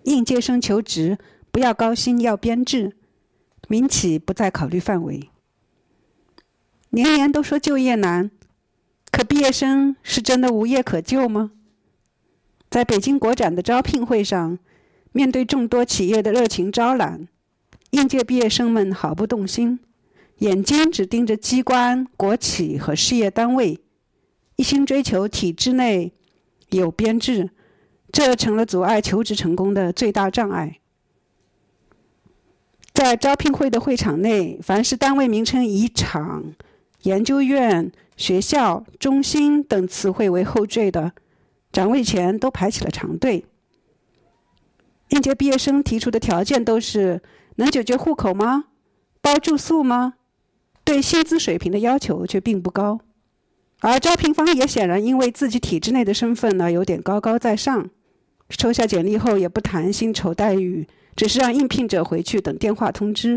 应届生求职不要高薪，要编制，民企不在考虑范围。年年都说就业难，可毕业生是真的无业可救吗？在北京国展的招聘会上，面对众多企业的热情招揽，应届毕业生们毫不动心，眼睛只盯着机关、国企和事业单位，一心追求体制内有编制，这成了阻碍求职成功的最大障碍。在招聘会的会场内，凡是单位名称以厂、研究院、学校、中心等词汇为后缀的，展位前都排起了长队。应届毕业生提出的条件都是能解决户口吗？包住宿吗？对薪资水平的要求却并不高。而招聘方也显然因为自己体制内的身份呢，有点高高在上，抽下简历后也不谈薪酬待遇，只是让应聘者回去等电话通知。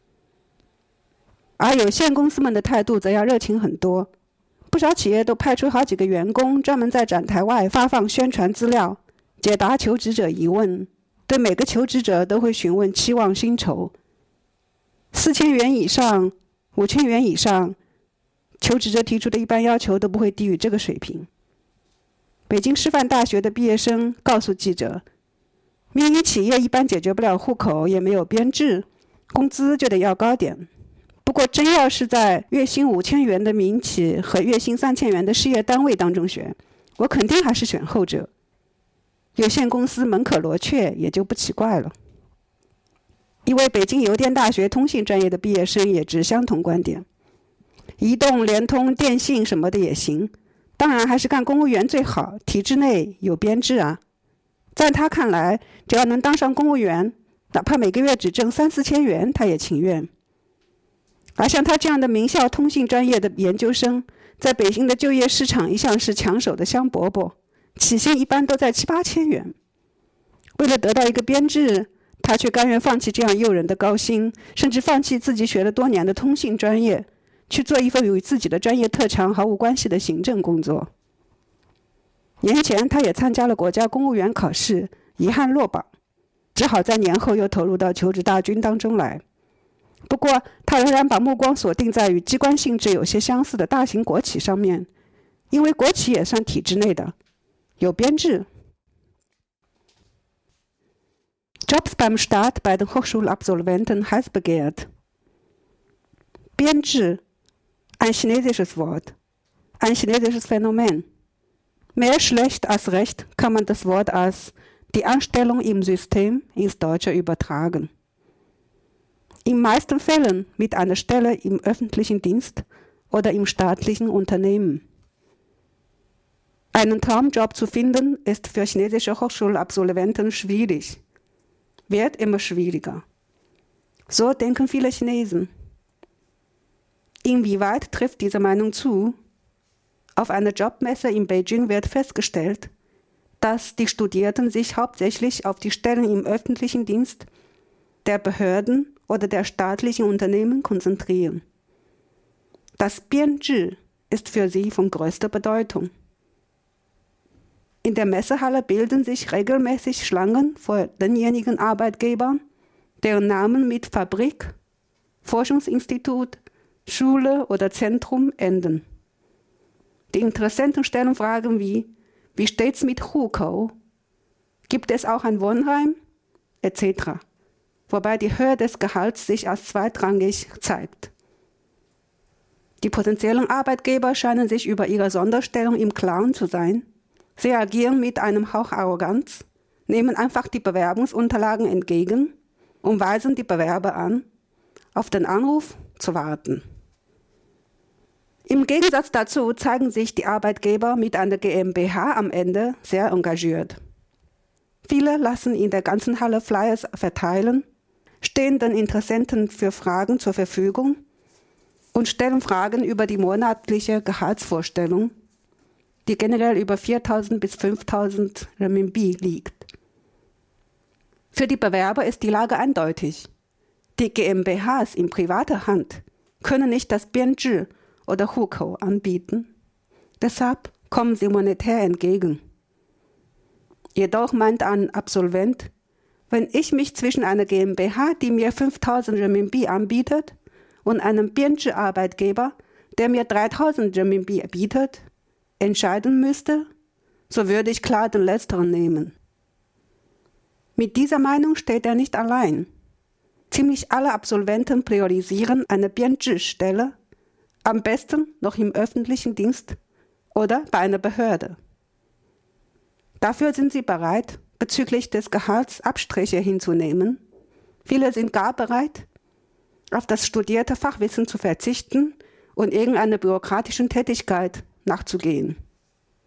而有限公司们的态度则要热情很多，不少企业都派出好几个员工专门在展台外发放宣传资料，解答求职者疑问，对每个求职者都会询问期望薪酬，4000元以上、5000元以上，求职者提出的一般要求都不会低于这个水平。北京师范大学的毕业生告诉记者，民营企业一般解决不了户口，也没有编制，工资就得要高点。不过真要是在月薪5000元的民企和月薪3000元的事业单位当中选，我肯定还是选后者。有限公司门可罗雀，也就不奇怪了。一位北京邮电大学通信专业的毕业生也持相同观点，移动、联通、电信什么的也行，当然还是干公务员最好，体制内有编制啊。在他看来，只要能当上公务员，哪怕每个月只挣3-4千元，他也情愿。而像他这样的名校通信专业的研究生，在北京的就业市场一向是抢手的香饽饽，起薪一般都在7-8千元。为了得到一个编制，他却甘愿放弃这样诱人的高薪，甚至放弃自己学了多年的通信专业，去做一份与自己的专业特长毫无关系的行政工作。年前他也参加了国家公务员考试，遗憾落榜，只好在年后又投入到求职大军当中来。不过他仍然把目光锁定在与机关性质有些相似的大型国企上面，因为国企也算体制内的，有编制。Jobs beim Staat bei den Hochschulabsolventen heiß begehrt. 编制 ein chinesisches Wort, ein chinesisches Phänomen. Mehr schlecht als recht kann man das Wort als die Anstellung im System ins Deutsche übertragen. In meisten Fällen mit einer Stelle im öffentlichen Dienst oder im staatlichen Unternehmen. Einen Traumjob zu finden, ist für chinesische Hochschulabsolventen schwierig. Wird immer schwieriger. So denken viele Chinesen. Inwieweit trifft diese Meinung zu? Auf einer Jobmesse in Beijing wird festgestellt, dass die Studierenden sich hauptsächlich auf die Stellen im öffentlichen Dienst, der Behörden oder der staatlichen Unternehmen konzentrieren. Das Bianzhi ist für sie von größter Bedeutung. In der Messehalle bilden sich regelmäßig Schlangen vor denjenigen Arbeitgebern, deren Namen mit Fabrik, Forschungsinstitut, Schule oder Zentrum enden. Die Interessenten stellen Fragen wie steht's mit Hukou? Gibt es auch ein Wohnheim? Etc. Wobei die Höhe des Gehalts sich als zweitrangig zeigt. Die potenziellen Arbeitgeber scheinen sich über ihre Sonderstellung im Klaren zu sein. Sie agieren mit einem Hauch Arroganz, nehmen einfach die Bewerbungsunterlagen entgegen und weisen die Bewerber an, auf den Anruf zu warten. Im Gegensatz dazu zeigen sich die Arbeitgeber mit einer GmbH am Ende sehr engagiert. Viele lassen in der ganzen Halle Flyers verteilen, stehen den Interessenten für Fragen zur Verfügung und stellen Fragen über die monatliche Gehaltsvorstellung, die generell über 4.000 bis 5.000 Renminbi liegt. Für die Bewerber ist die Lage eindeutig. Die GmbHs in privater Hand können nicht das Bianzhi oder Hukou anbieten. Deshalb kommen sie monetär entgegen. Jedoch meint ein Absolvent, Wenn ich mich zwischen einer GmbH, die mir 5.000 Renminbi anbietet, und einem Bianchi-Arbeitgeber, der mir 3.000 Renminbi bietet, entscheiden müsste, so würde ich klar den letzteren nehmen. Mit dieser Meinung steht er nicht allein. Ziemlich alle Absolventen priorisieren eine Bianchi-Stelle, am besten noch im öffentlichen Dienst oder bei einer Behörde. Dafür sind sie bereit, bezüglich des Gehalts Abstriche hinzunehmen. Viele sind gar bereit, auf das studierte Fachwissen zu verzichten und irgendeiner bürokratischen Tätigkeit nachzugehen.